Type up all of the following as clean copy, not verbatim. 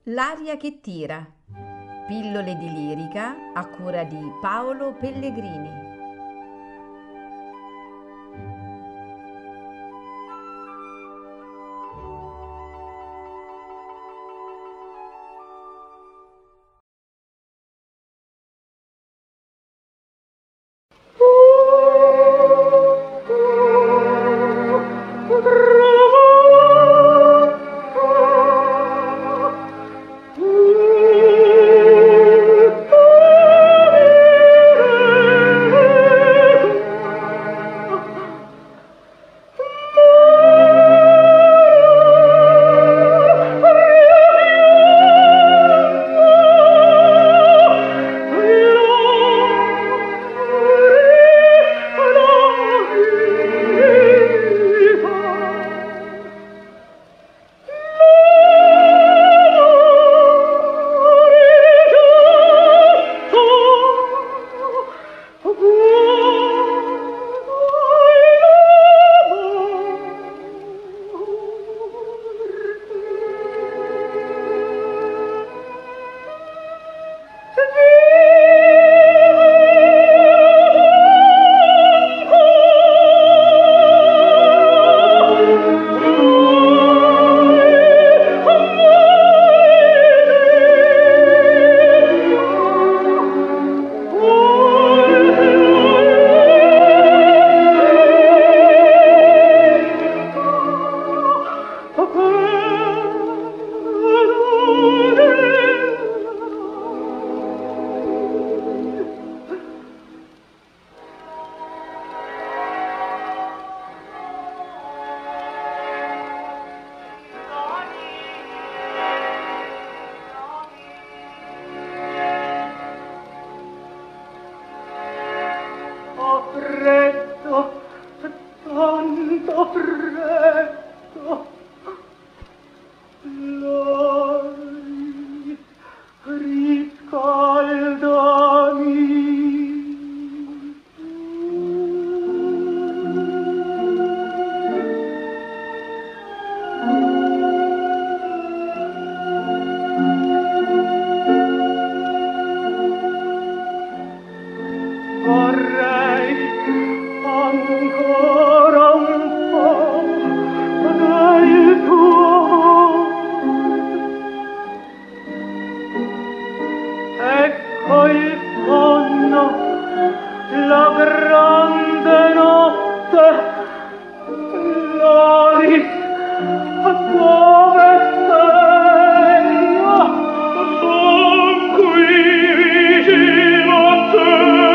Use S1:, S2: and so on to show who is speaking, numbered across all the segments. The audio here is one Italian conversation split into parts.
S1: L'aria che tira. Pillole di lirica a cura di Paolo Pellegrini.
S2: Freddo, tanto freddo, lei riscaldami. Vorrei ancora un po' del tuo ecco il sonno, la grande notte, Loris, dove sei? Son qui vicino a te.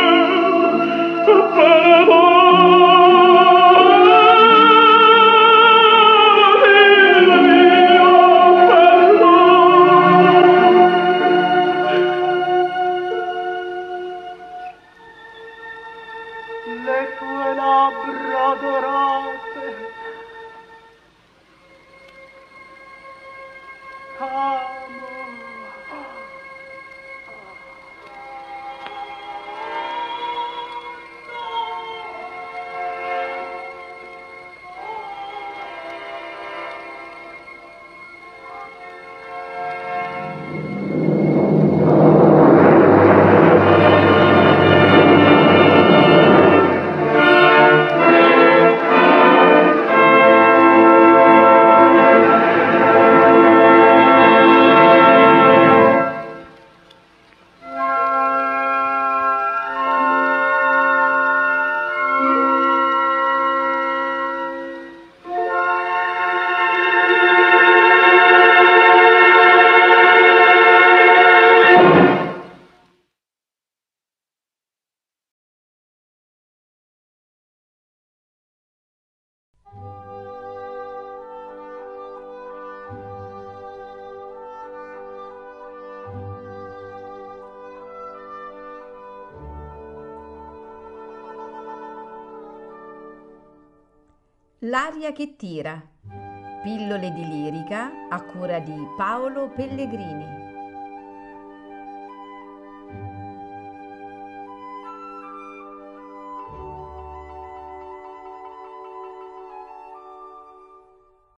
S2: Le tue labbra dorate, amo.
S1: L'aria che tira. Pillole di lirica a cura di Paolo Pellegrini.